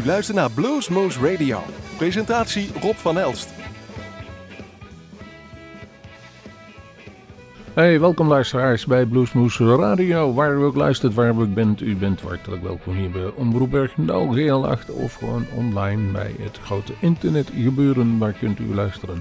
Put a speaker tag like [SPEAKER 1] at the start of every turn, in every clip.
[SPEAKER 1] U luistert naar Bluesmoose Radio. Presentatie Rob van Elst.
[SPEAKER 2] Hey, welkom luisteraars bij Bluesmoose Radio. Waar u ook luistert, waar u ook bent, u bent hartelijk welkom hier bij Omroep Bergendal, GL8 of gewoon online bij het grote internetgebeuren. Waar kunt u luisteren.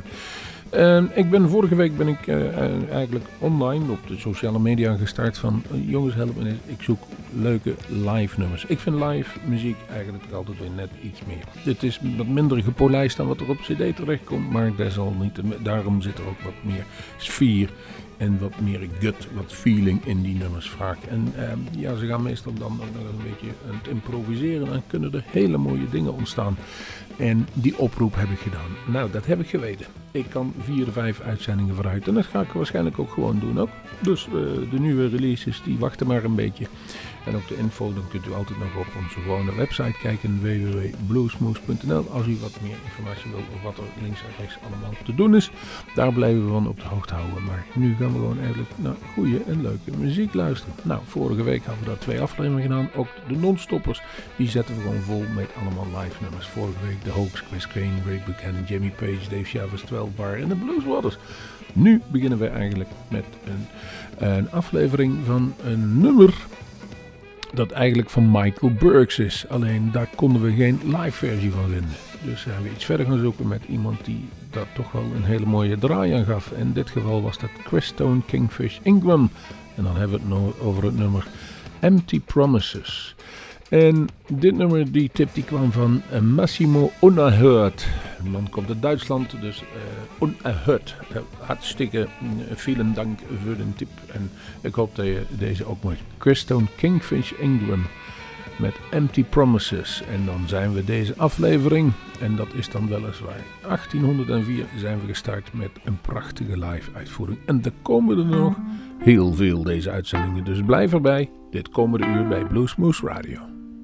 [SPEAKER 2] Vorige week ben ik eigenlijk online op de sociale media gestart van jongens help me eens, ik zoek leuke live nummers. Ik vind live muziek eigenlijk altijd weer net iets meer. Het is wat minder gepolijst dan wat er op cd terechtkomt, maar daarom zit er ook wat meer sfeer en wat meer gut, wat feeling in die nummers vaak. En ze gaan meestal dan ook nog een beetje aan het improviseren en kunnen er hele mooie dingen ontstaan. En die oproep heb ik gedaan. Nou, dat heb ik geweten. Ik kan 4-5 uitzendingen vooruit. En dat ga ik waarschijnlijk ook gewoon doen ook. Dus de nieuwe releases, die wachten maar een beetje. En op de info, dan kunt u altijd nog op onze gewone website kijken. www.bluesmoose.nl. Als u wat meer informatie wilt over wat er links en rechts allemaal te doen is. Daar blijven we van op de hoogte houden. Maar nu gaan we gewoon eigenlijk naar goede en leuke muziek luisteren. Nou, vorige week hadden we daar 2 afleveringen gedaan. Ook de non-stoppers, die zetten we gewoon vol met allemaal live nummers. Vorige week de Hoax, Chris Crane, Ray Buchanan, Jimmy Page, Dave Chavez, 12 Bar en de Blues Brothers. Nu beginnen we eigenlijk met een aflevering van een nummer dat eigenlijk van Michael Burks is. Alleen daar konden we geen live versie van vinden. Dus zijn we iets verder gaan zoeken met iemand die daar toch wel een hele mooie draai aan gaf. In dit geval was dat Crestone Kingfish Ingram. En dan hebben we het over het nummer Empty Promises. En dit nummer, die tip die kwam van Massimo Unerhört. De man komt uit Duitsland, dus Unerhört. Hartstikke vielen dank voor de tip. En ik hoop dat je deze ook mooi. Crestone Kingfish Ingram met Empty Promises. En dan zijn we deze aflevering, en dat is dan weliswaar 1804, zijn we gestart met een prachtige live uitvoering. En er komen er nog heel veel deze uitzendingen, dus blijf erbij. Dit komende uur bij Bluesmoose Radio.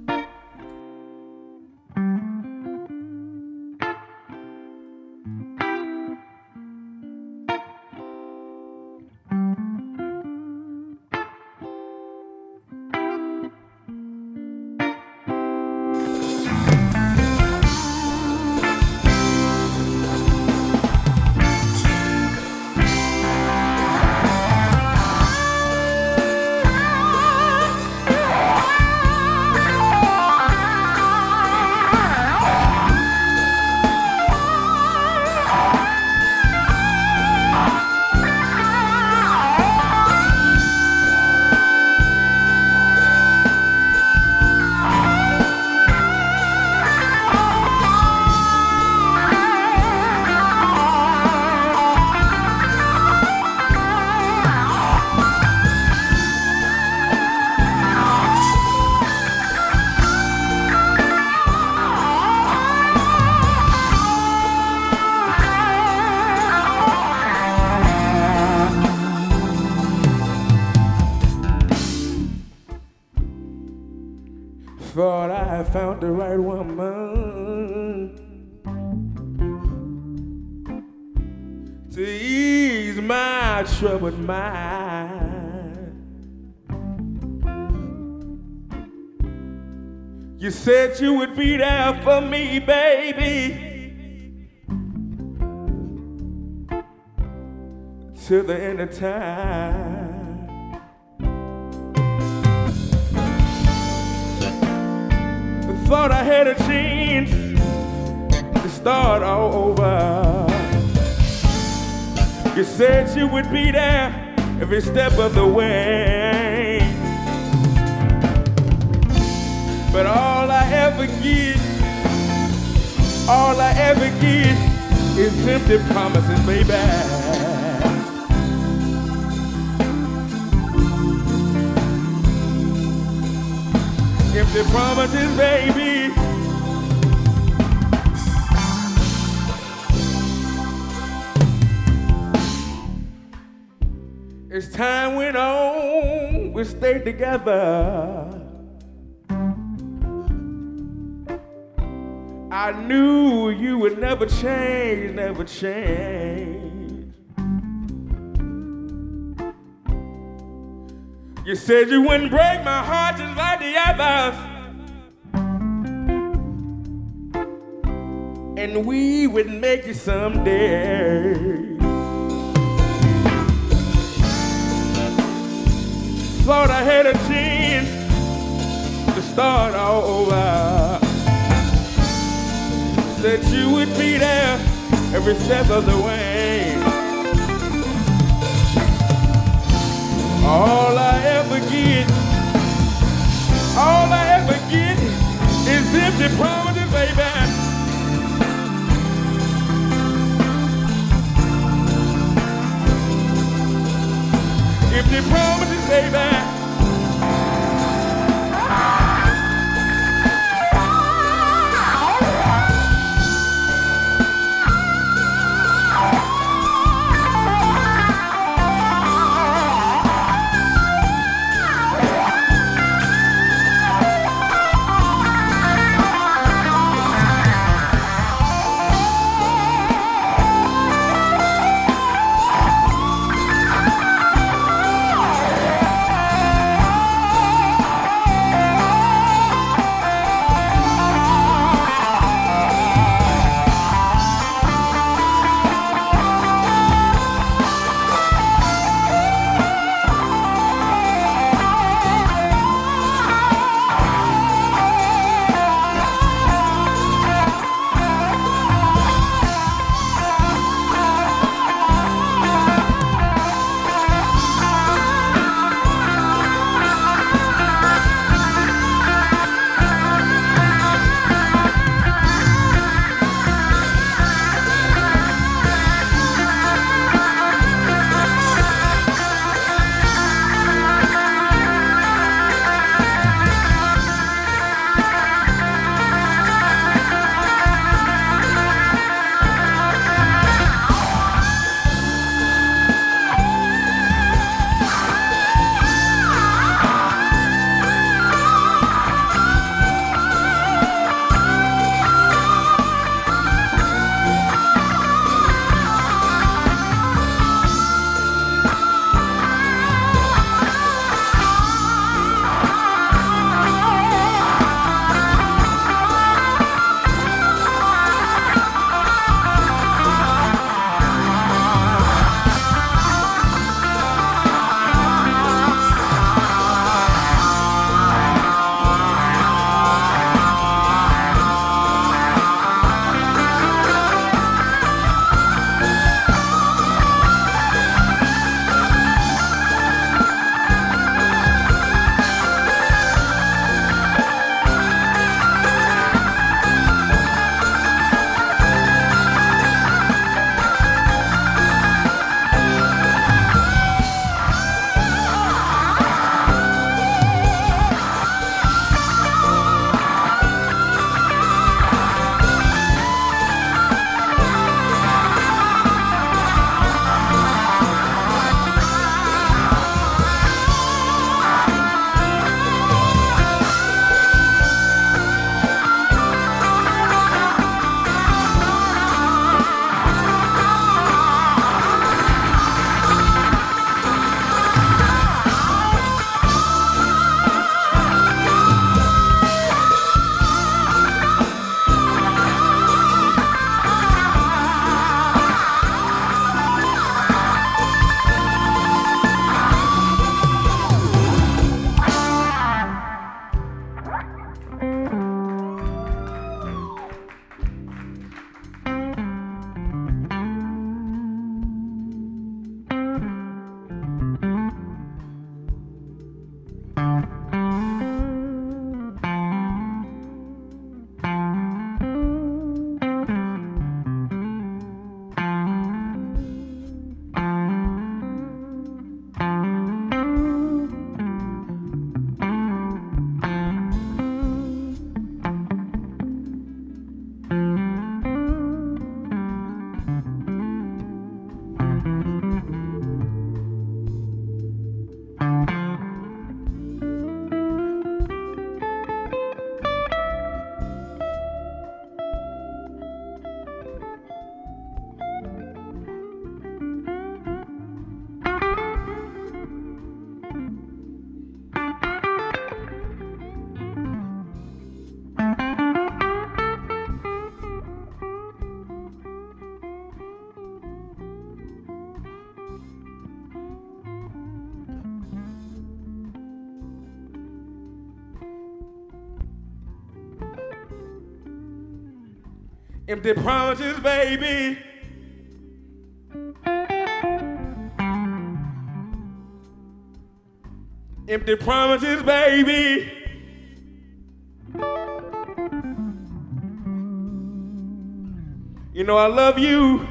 [SPEAKER 3] Thought I found the right woman to ease my troubled mind. You said you would be there for me, baby, till the end of time. Thought I had a chance to start all over. You said you would be there every step of the way, but all I ever get is empty promises, baby. Empty promises, baby. As time went on, we stayed together. I knew you would never change, never change. You said you wouldn't break my heart just like the others. and we would make it someday. Thought I had a chance to start all over. Said you would be there every step of the way. All I ever get is empty promises, baby. Empty promises, baby. Empty promises, baby. Empty promises, baby. You know I love you.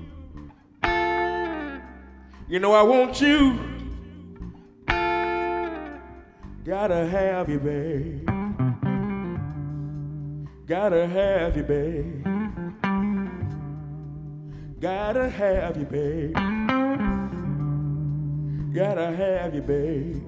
[SPEAKER 3] You know I want you. Gotta have you, babe. Gotta have you, babe. Gotta have you, babe. Gotta have you, babe.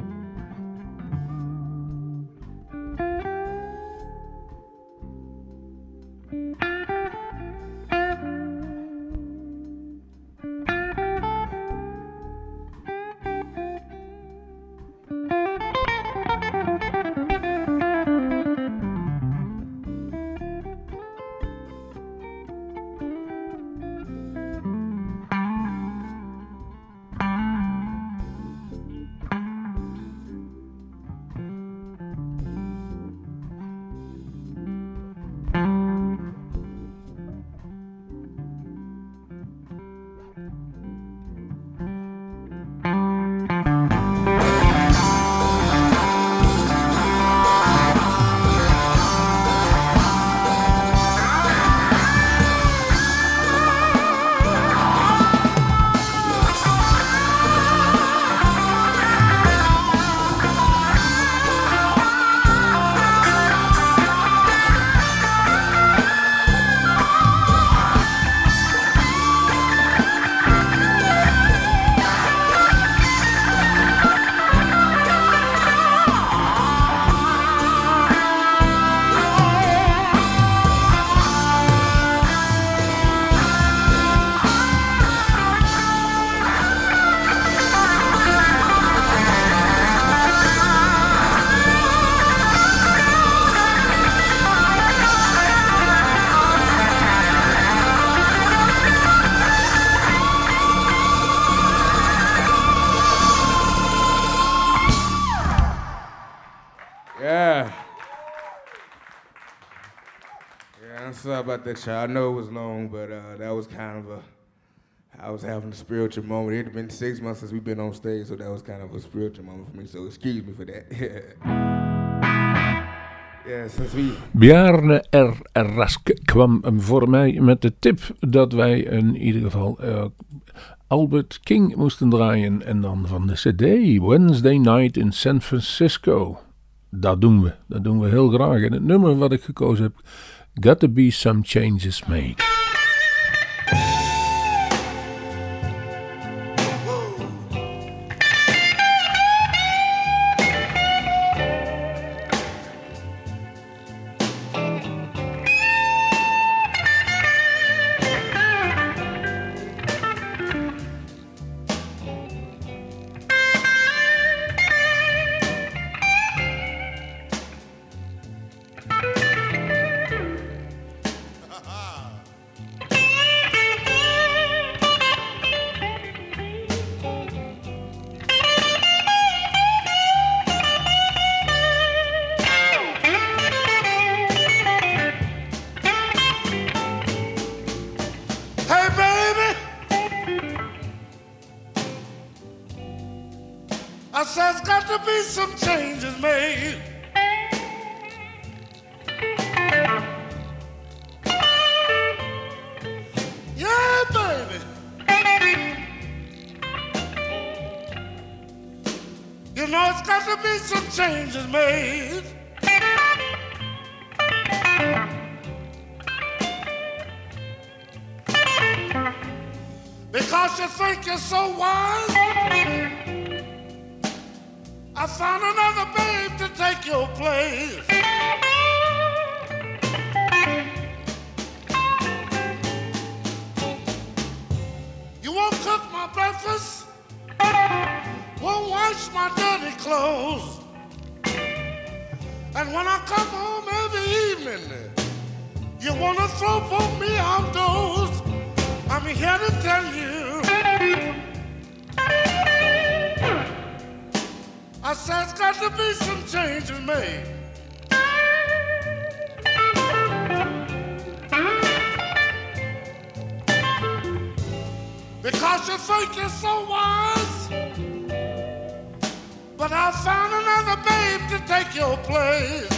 [SPEAKER 3] Sorry about that, y'all. I know it was long, but that was kind of I was having a spiritual moment. It had been 6 months since we've been on stage, so that was kind of a spiritual moment for me, so excuse me for that. Yeah, since we...
[SPEAKER 2] Bjarne R. Rask kwam voor mij met de tip dat wij in ieder geval Albert King moesten draaien. En dan van de CD Wednesday Night in San Francisco. Dat doen we heel graag. En het nummer wat ik gekozen heb, Got to Be Some Changes Made.
[SPEAKER 4] Because you think you're so wise, I found another babe to take your place. You won't cook my breakfast, won't wash my dirty clothes, and when I come home every evening, you wanna throw both me outdoors. I'm here to tell you, I said it's got to be some changes made. because you think you're so wise. But I found another babe to take your place.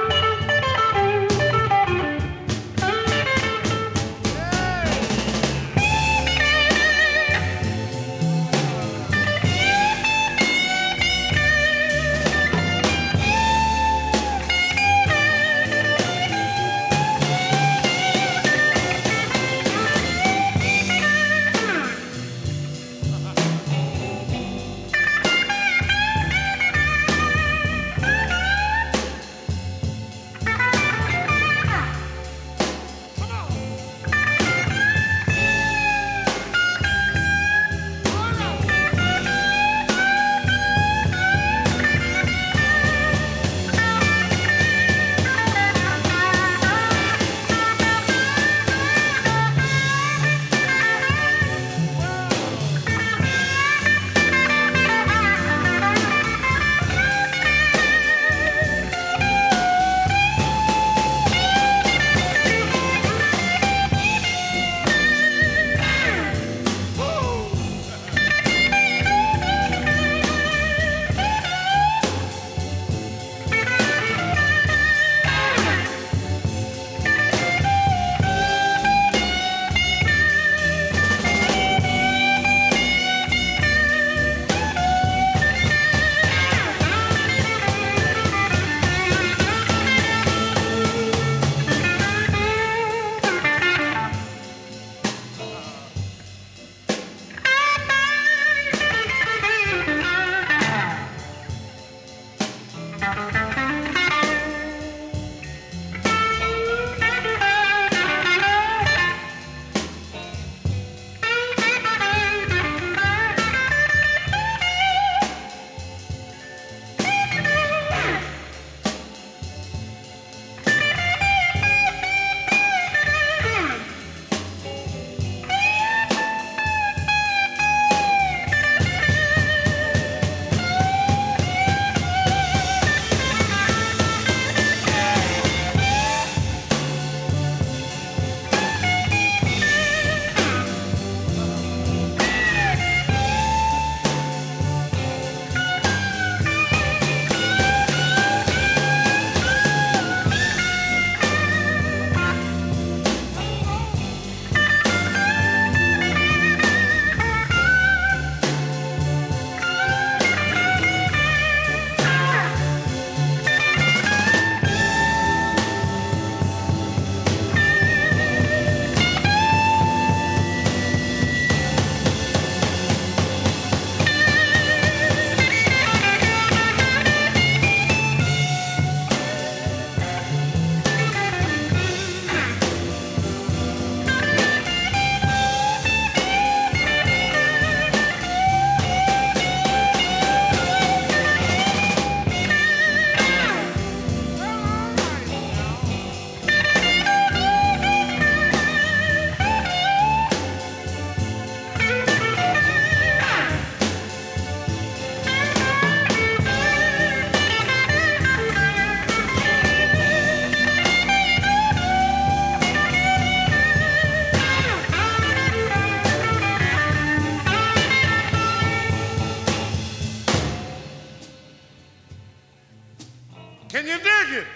[SPEAKER 4] Can you dig it?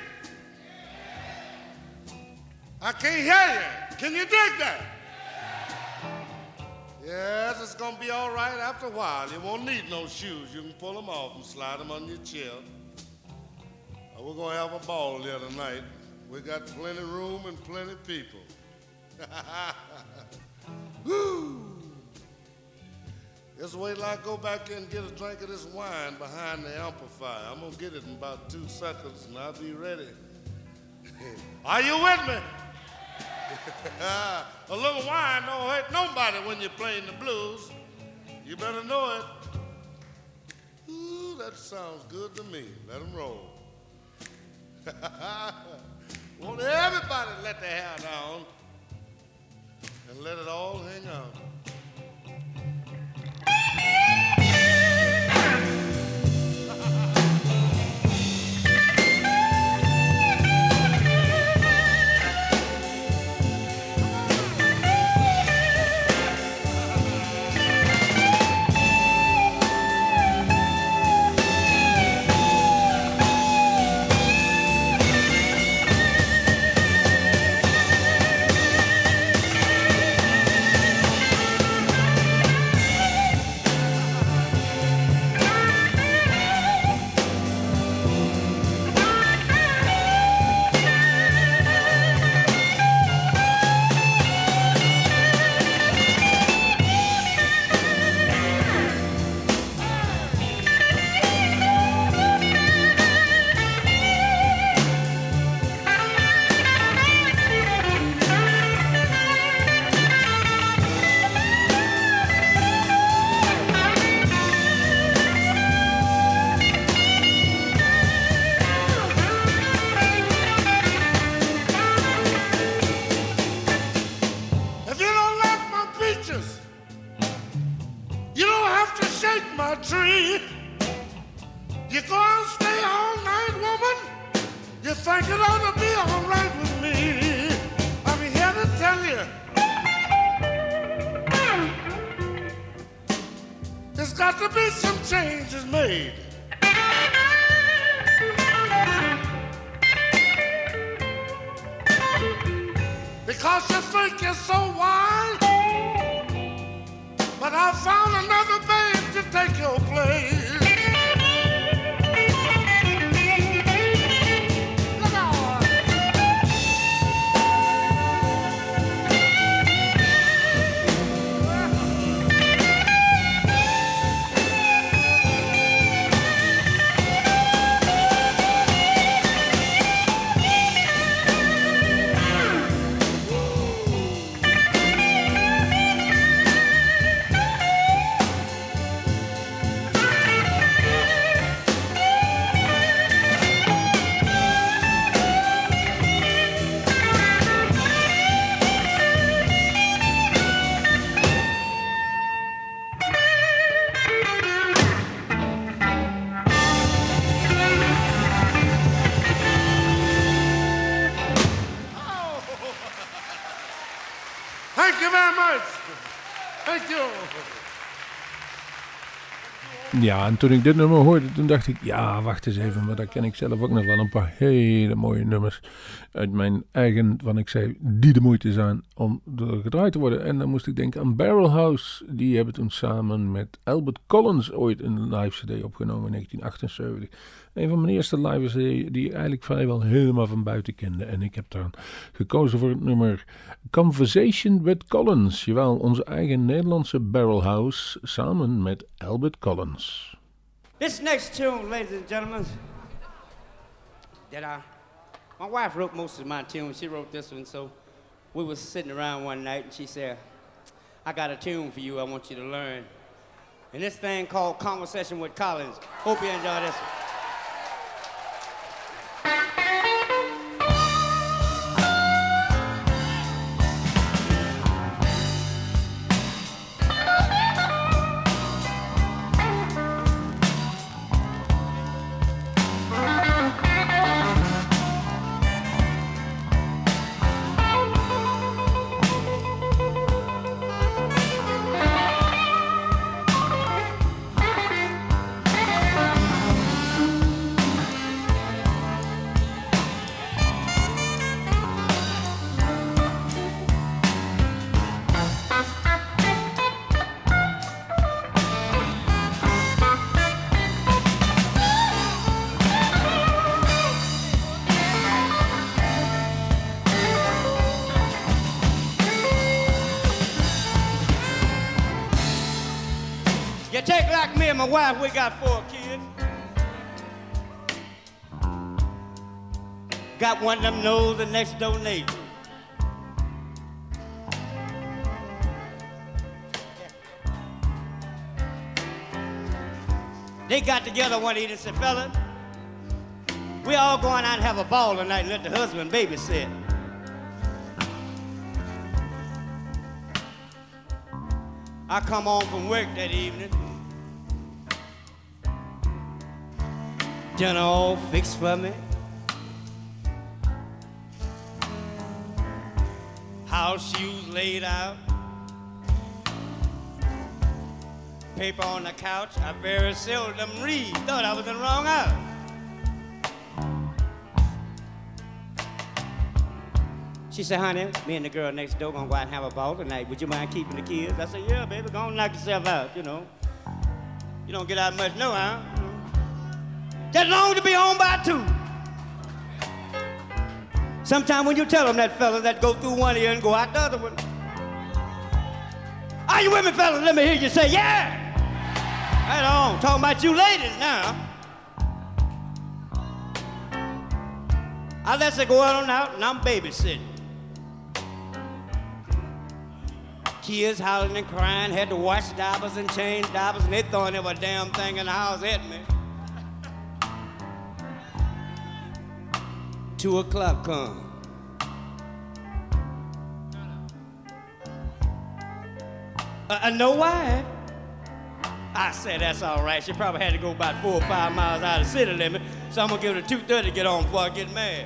[SPEAKER 4] I can't hear you. Can you dig that? Yes, it's going to be all right after a while. You won't need no shoes. You can pull them off and slide them on your chair. We're going to have a ball here tonight. We got plenty of room and plenty of people. Woo! Just wait till I go back in and get a drink of this wine behind the amplifier. I'm going to get it in about 2 seconds, and I'll be ready. Are you with me? A little wine don't hurt nobody when you're playing the blues. You better know it. Ooh, that sounds good to me. Let them roll. Won't everybody let their hair down and let it all hang out. think it ought to be all right with me. I'm here to tell you, there's got to be some changes made. Because you think you're so wise, but I found another babe to take your place. Thank you very much. Thank you.
[SPEAKER 2] Ja, en toen ik dit nummer hoorde, toen dacht ik, ja, wacht eens even, maar daar ken ik zelf ook nog wel een paar hele mooie nummers uit mijn eigen, van ik zei, die de moeite zijn om gedraaid te worden. En dan moest ik denken aan Barrel House, die hebben toen samen met Albert Collins ooit een live cd opgenomen in 1978. Een van mijn eerste live cd die ik eigenlijk vrijwel helemaal van buiten kende. En ik heb dan gekozen voor het nummer Conversation with Collins. Jawel, onze eigen Nederlandse Barrel House samen met Albert Collins.
[SPEAKER 5] This next tune, ladies and gentlemen, that my wife wrote most of my tunes. She wrote this one, so we was sitting around one night and she said, I got a tune for you I want you to learn. And this thing called Conversation with Collins. Hope you enjoy this one. Take like me and my wife, we got 4 kids. Got one of them knows the next door neighbor. They got together one evening and said, fella, we all going out and have a ball tonight and let the husband babysit. I come home from work that evening. Dinner all fixed for me. House shoes laid out. Paper on the couch. I very seldom read. Thought I was in the wrong house. She said, honey, me and the girl next door gonna go out and have a ball tonight. Would you mind keeping the kids? I said, yeah, baby, go on and knock yourself out, you know. You don't get out much no how. Just long to be home by 2. Sometime when you tell them that, fella, that go through one ear and go out the other one. Are you with me, fella? Let me hear you say, yeah. Right on. Talking about you ladies now. I let her go on out and I'm babysitting. Kids howling and crying, had to wash diapers and change diapers, and they throwing every damn thing in the house at me. 2 o'clock come. No wife? I said, that's all right. She probably had to go about 4 or 5 miles out of the city limit. So I'm gonna give it a 2:30 to get on before I get mad.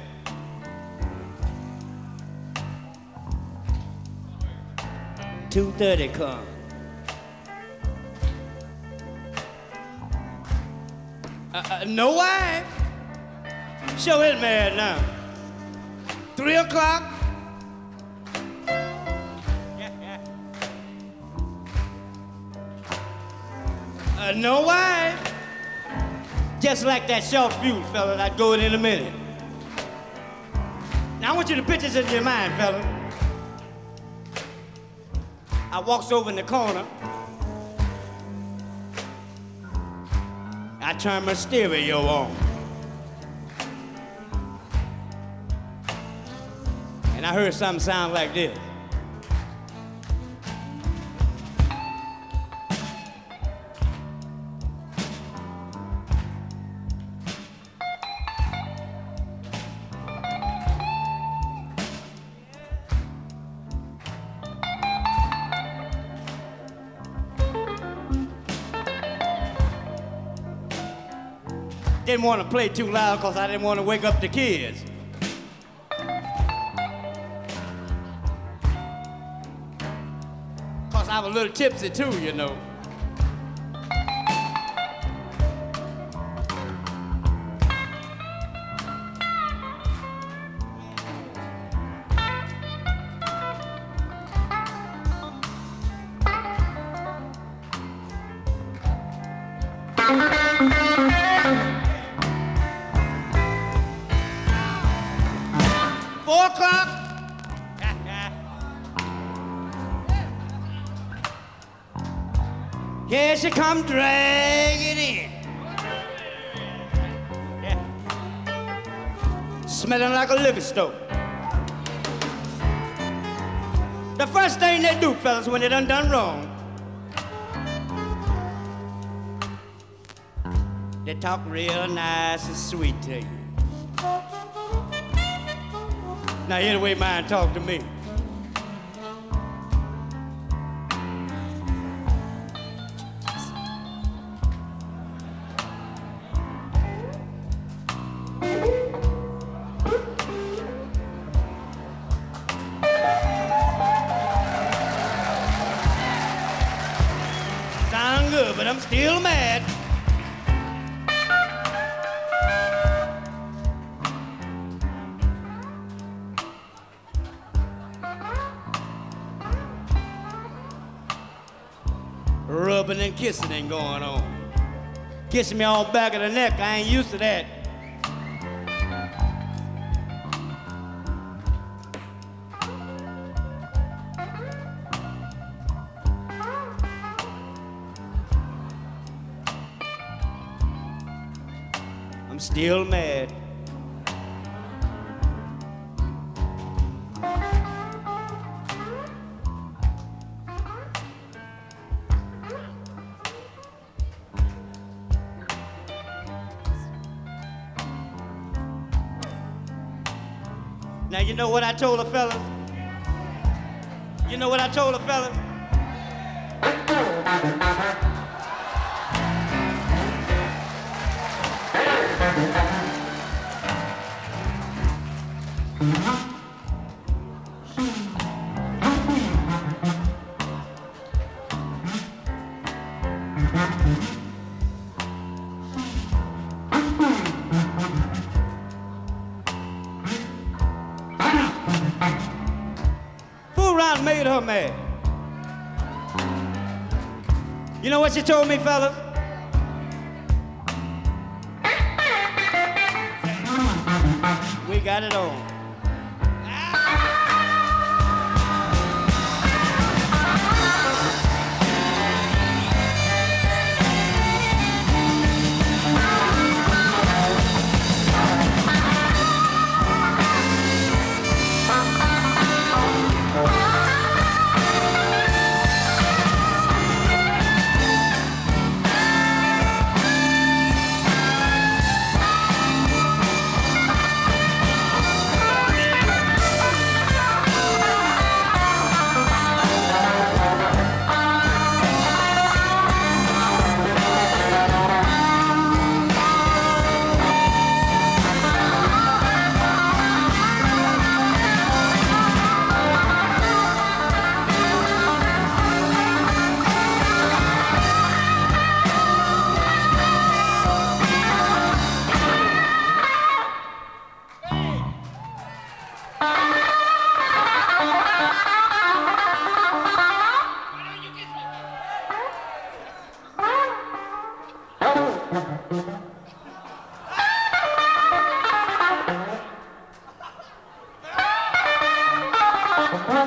[SPEAKER 5] $2.30 come. No wife. Show is mad now. 3 o'clock. No wife. Just like that short fuse, fella. I'd go in a minute. Now I want you to picture this in your mind, fella. I walks over in the corner. I turn my stereo on. And I heard something sound like this. Didn't want to play too loud because I didn't want to wake up the kids. Because I was a little tipsy too, you know. Here she come dragging in. Yeah. Smelling like a liquor store. The first thing they do, fellas, when they done wrong, they talk real nice and sweet to you. Now hear the way mine talk to me. Sound good, but I'm still mad. Rubbing and kissing ain't going on. Kissing me on the back of the neck, I ain't used to that. I'm still mad. Now you know what I told the fellas? You know what I told the fellas? Made her mad. You know what she told me, fellas? We got it on.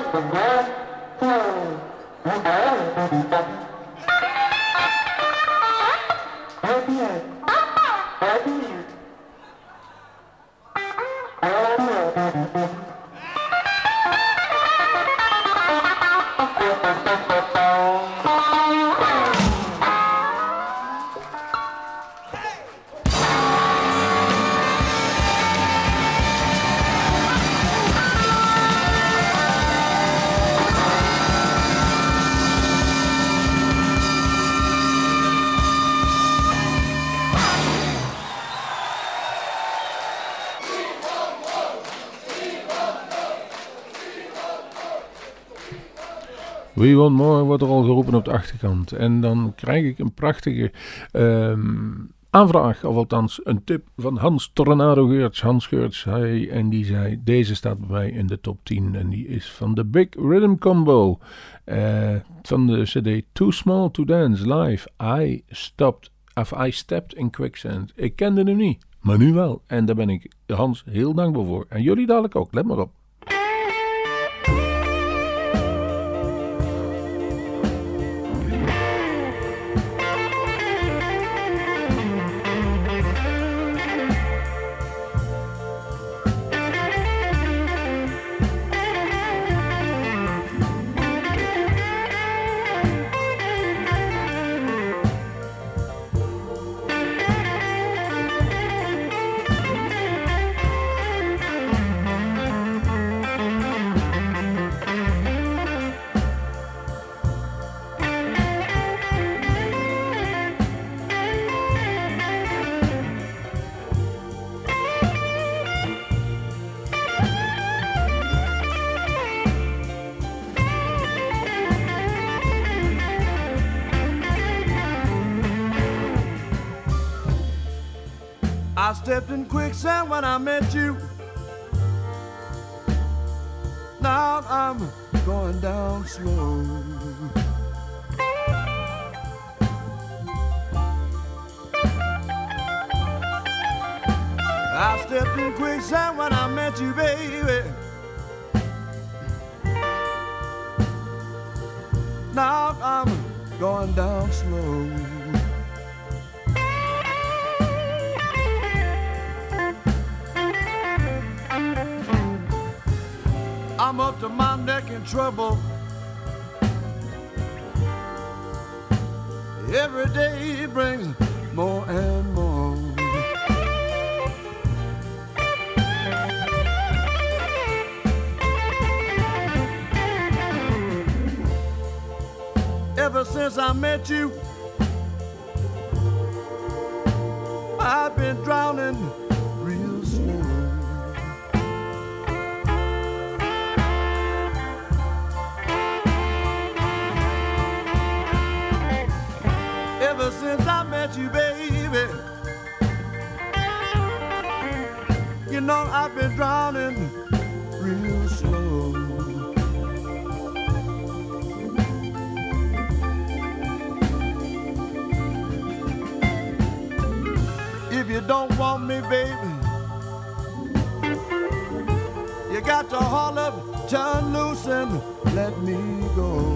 [SPEAKER 2] We Want More wordt er al geroepen op de achterkant. En dan krijg ik een prachtige aanvraag, of althans een tip van Hans Tornado Geurts. Hans Geurts, en die zei, deze staat bij mij in de top 10. En die is van de Big Rhythm Combo. Van de CD Too Small to Dance Live. I Stepped in Quicksand. Ik kende hem niet, maar nu wel. En daar ben ik Hans heel dankbaar voor. En jullie dadelijk ook, let maar op.
[SPEAKER 6] I stepped in quicksand when I met you. Now I'm going down slow. I stepped in quicksand when I met you, baby. Now I'm going down slow. I'm up to my neck in trouble. Every day brings more and more. Ever since I met you, I've been drowning real slow. Ever since I met you, baby, you know I've been drowning real slow. If you don't want me, baby, you got to haul up, turn loose and let me go.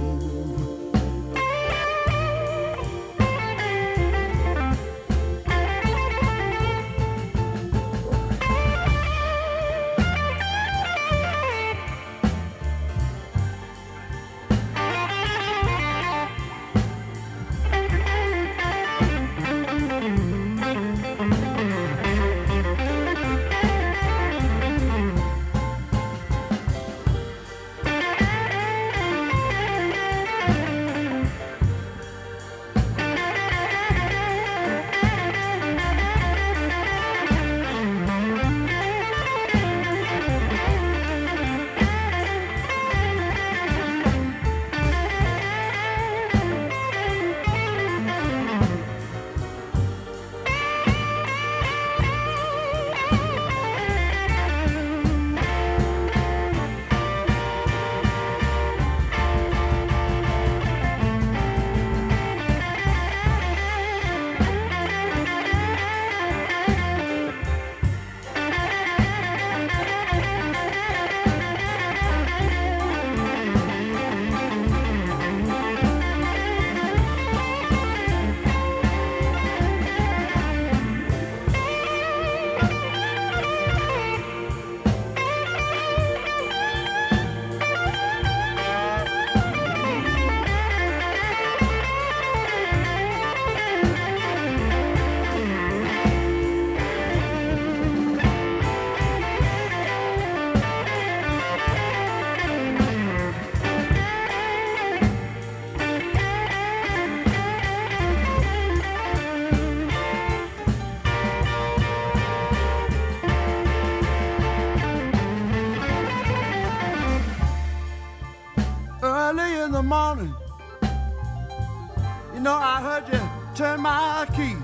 [SPEAKER 6] morning, you know I heard you turn my key.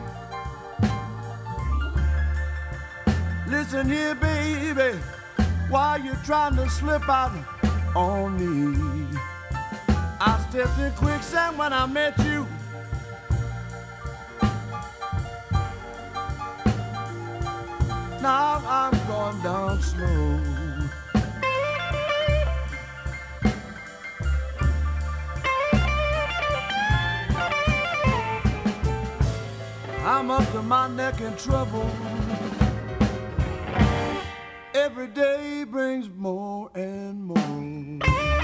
[SPEAKER 6] Listen here, baby, why you trying to slip out on me? I stepped in quicksand when I met you. Now I'm going down slow. I'm up to my neck in trouble. Every day brings more and more.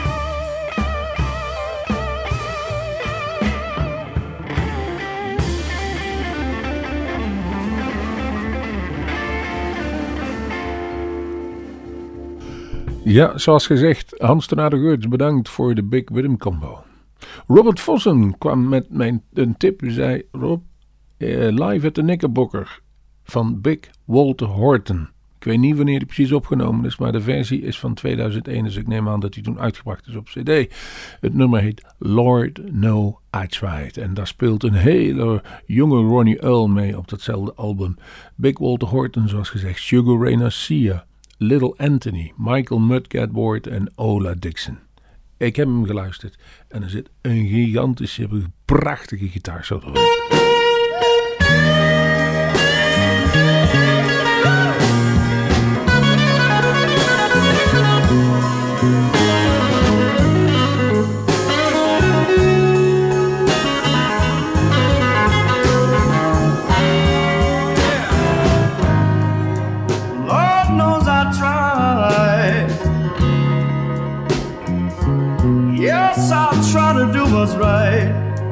[SPEAKER 2] Ja, zoals gezegd, Hans ten Aardegeurts, bedankt voor de Big Rhythm Combo. Robert Vossen kwam met een tip. Hij zei, Rob, live at the Knickerbocker van Big Walter Horton. Ik weet niet wanneer die precies opgenomen is, maar de versie is van 2001, dus ik neem aan dat die toen uitgebracht is op cd. Het nummer heet Lord No I Tried. En daar speelt een hele jonge Ronnie Earl mee op datzelfde album. Big Walter Horton, zoals gezegd, Sugar Ray Garcia, Little Anthony, Michael Mudgett en Ola Dixon. Ik heb hem geluisterd en er zit een gigantische, prachtige gitaarsolo in.
[SPEAKER 6] Yes, I'll try to do what's right.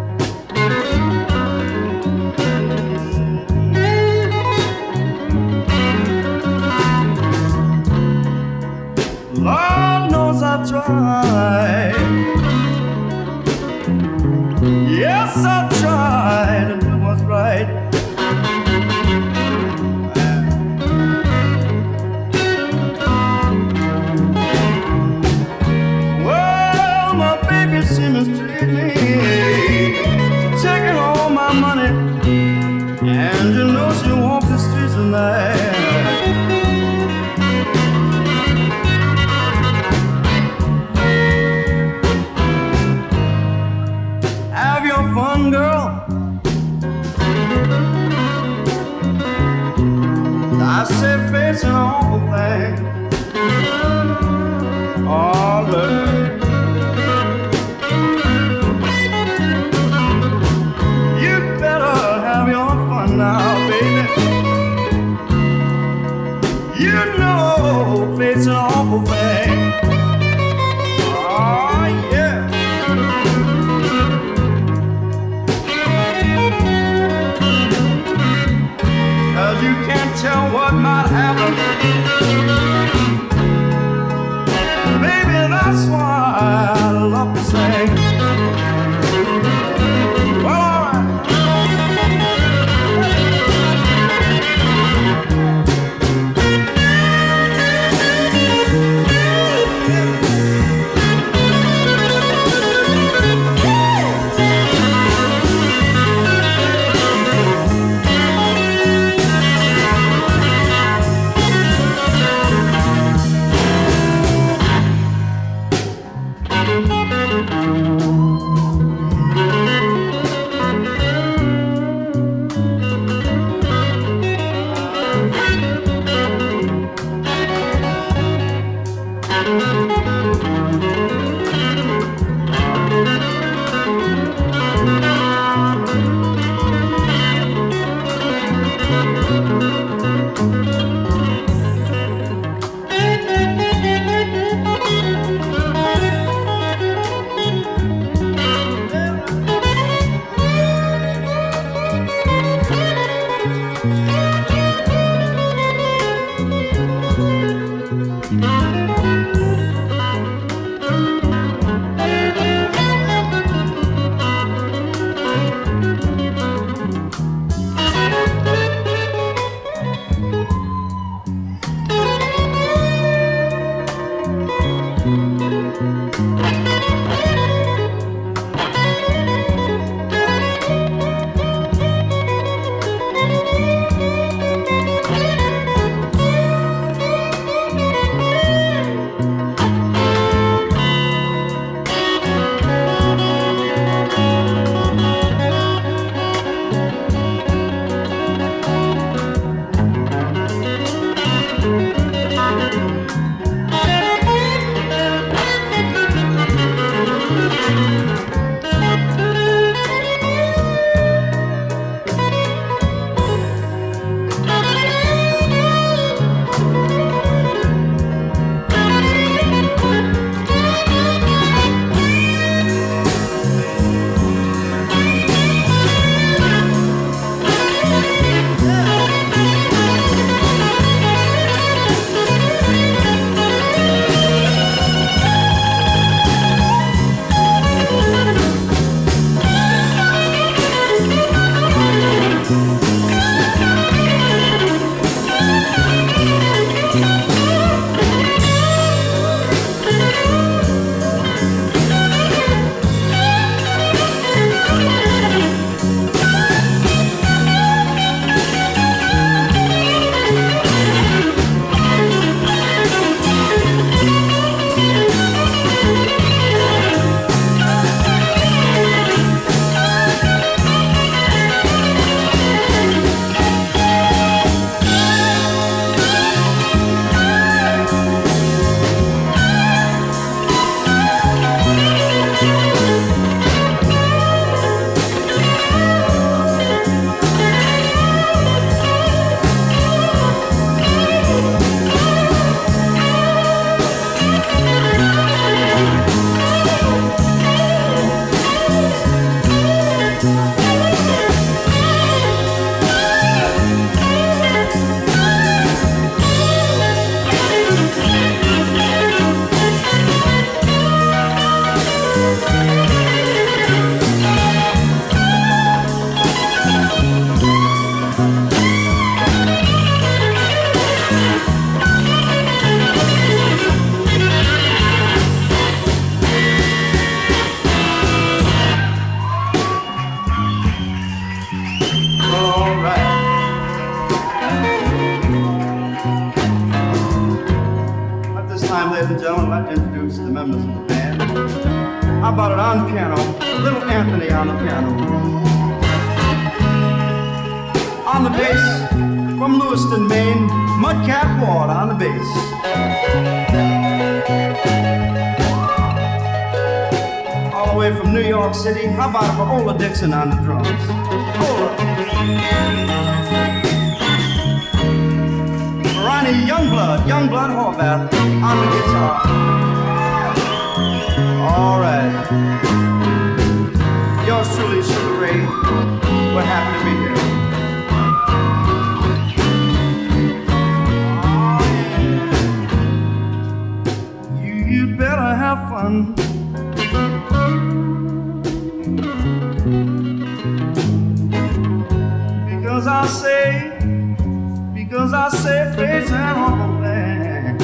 [SPEAKER 6] Lord knows I try. Yes, I try to do what's right. She mistreat me, taking all my money, and you know she walk the streets at night. Have your fun, girl. I say face an awful thing. Oh, look. Now, baby, you know fate's an awful thing. Oh, yeah. 'Cause you can't tell what might happen. Baby, that's why I love to sing. time, ladies and gentlemen, I'd like to introduce the members of the band. How about it on piano? Little Anthony on the piano. On the bass, from Lewiston, Maine, Mudcat Ward on the bass. All the way from New York City, how about it for Ola Dixon on the drums? Ola. Ronnie Youngblood Horvath on the guitar. All right. Yours truly, Sugar Ray. We're happy to be here. You'd better have fun. Because I say face and all that.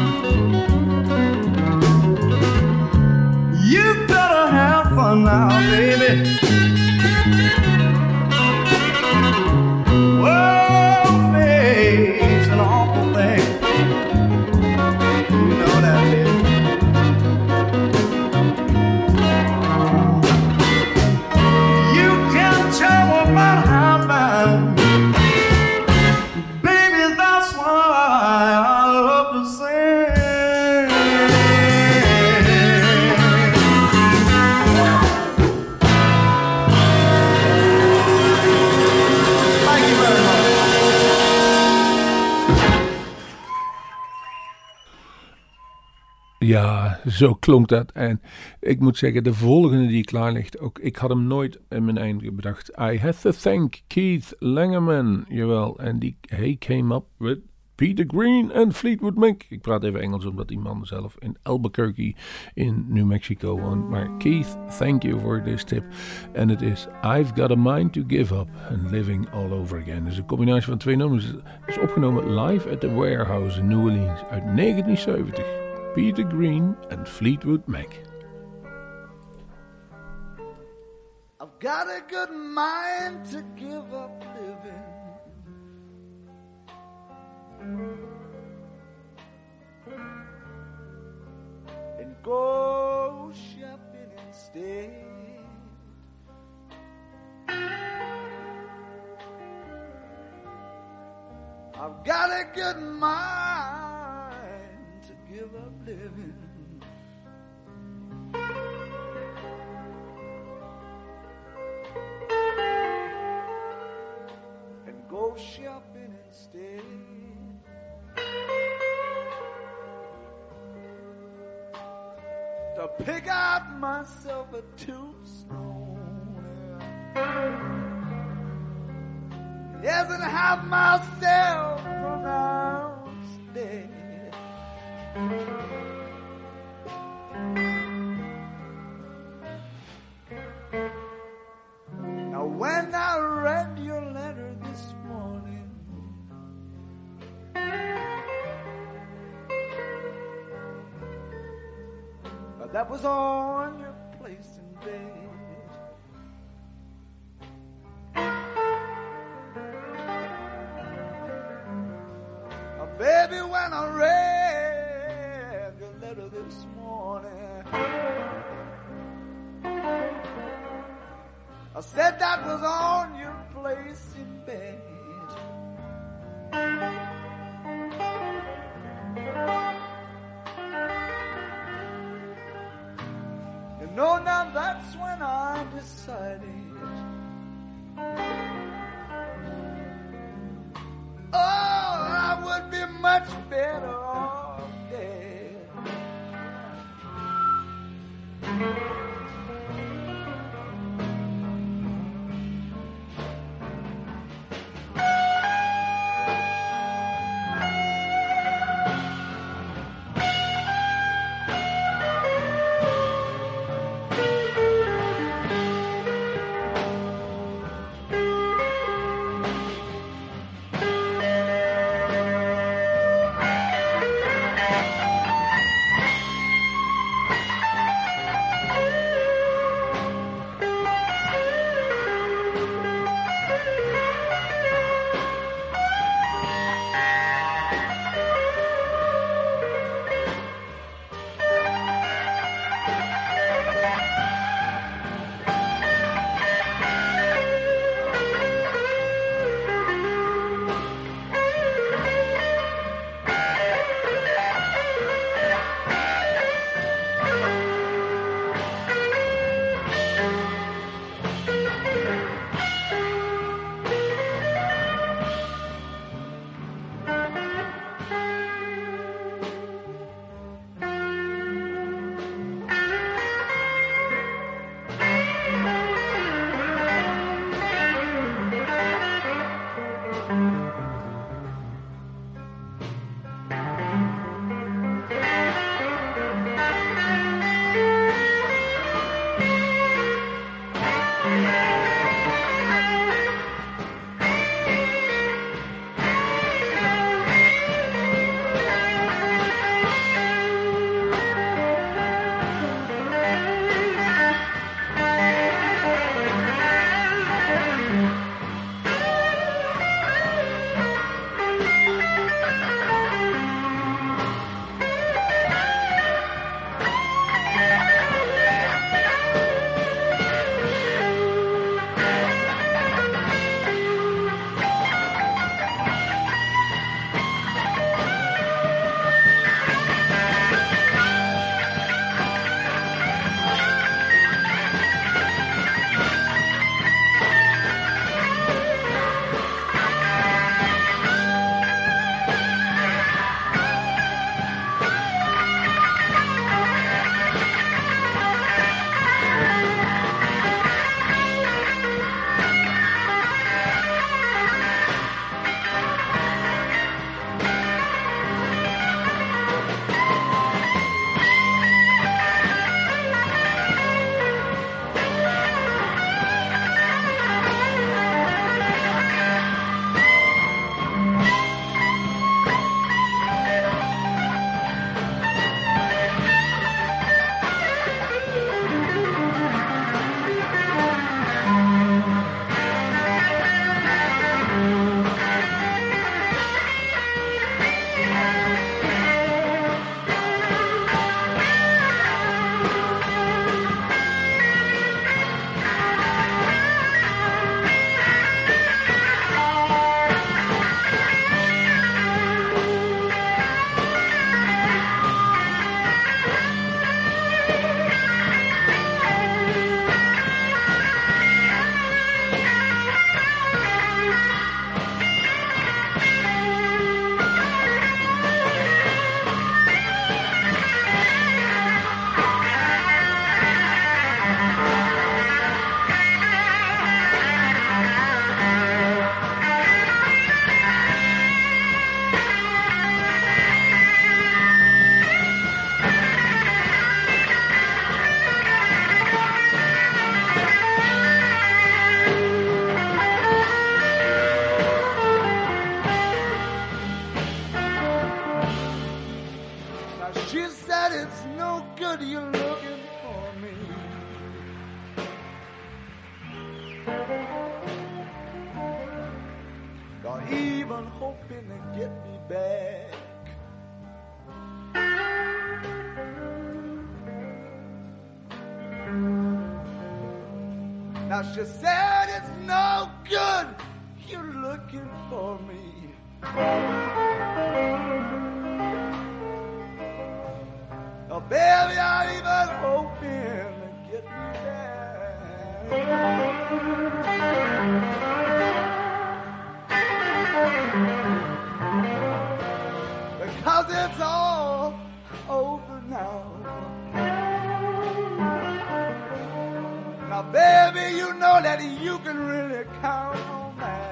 [SPEAKER 6] You better have fun now, baby. Well, face an awful thing. You know that, baby. You can't tell about how bad.
[SPEAKER 2] Ja, zo klonk dat. En ik moet zeggen, de volgende die klaar ligt, ook ik had hem nooit in mijn einde bedacht. I had to thank Keith Langerman, jawel. En he came up with Peter Green en Fleetwood Mac. Ik praat even Engels omdat die man zelf in Albuquerque in New Mexico woont. Maar Keith, thank you for this tip. En het is I've Got a Mind to Give Up and Living All Over Again. Dus een combinatie van twee nummers. Het is opgenomen live at the Warehouse in New Orleans uit 1970. Peter Green and Fleetwood Mac.
[SPEAKER 6] I've got a good mind to give up living. And go shopping instead. I've got a good mind to give up living. And go shopping instead. To pick out myself a tombstone. Yes, and have myself pronounced dead. Now when I read your letter this morning, that was on your place in bed. Baby, when I read your letter this morning, I said that was on your place in bed. You know, now that's when I decided, I would be much better off dead. it's no good you're looking for me. Not even hoping to get me back. Now she said it's no good you're looking for me. Oh, baby, I'm even hoping to get me back. Because it's all over now. Now, baby, you know that you can really count on that.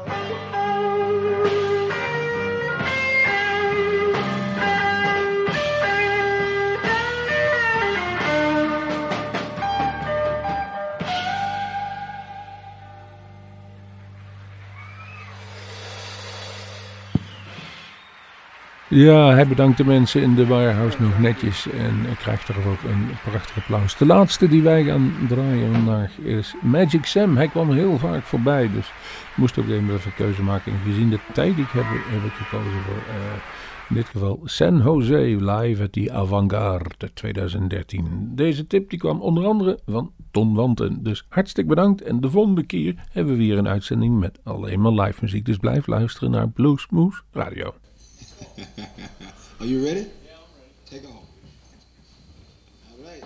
[SPEAKER 2] Ja, hij bedankt de mensen in de Warehouse nog netjes en krijgt er ook een prachtig applaus. De laatste die wij gaan draaien vandaag is Magic Sam. Hij kwam heel vaak voorbij, dus ik moest ook even een keuze maken. En gezien de tijd die ik heb ik gekozen voor in dit geval San Jose live at the Avant-Garde 2013. Deze tip die kwam onder andere van Ton Wanten. Dus hartstikke bedankt en de volgende keer hebben we weer een uitzending met alleen maar live muziek. Dus blijf luisteren naar Bluesmoose Radio.
[SPEAKER 7] Are you ready? Yeah, I'm ready. Take off. All right.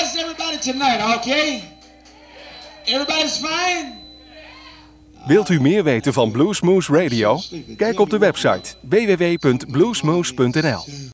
[SPEAKER 7] how's everybody tonight, okay? Everybody's fine?
[SPEAKER 1] Wilt u meer weten van Bluesmoose Radio? Kijk op de website www.bluesmoose.nl.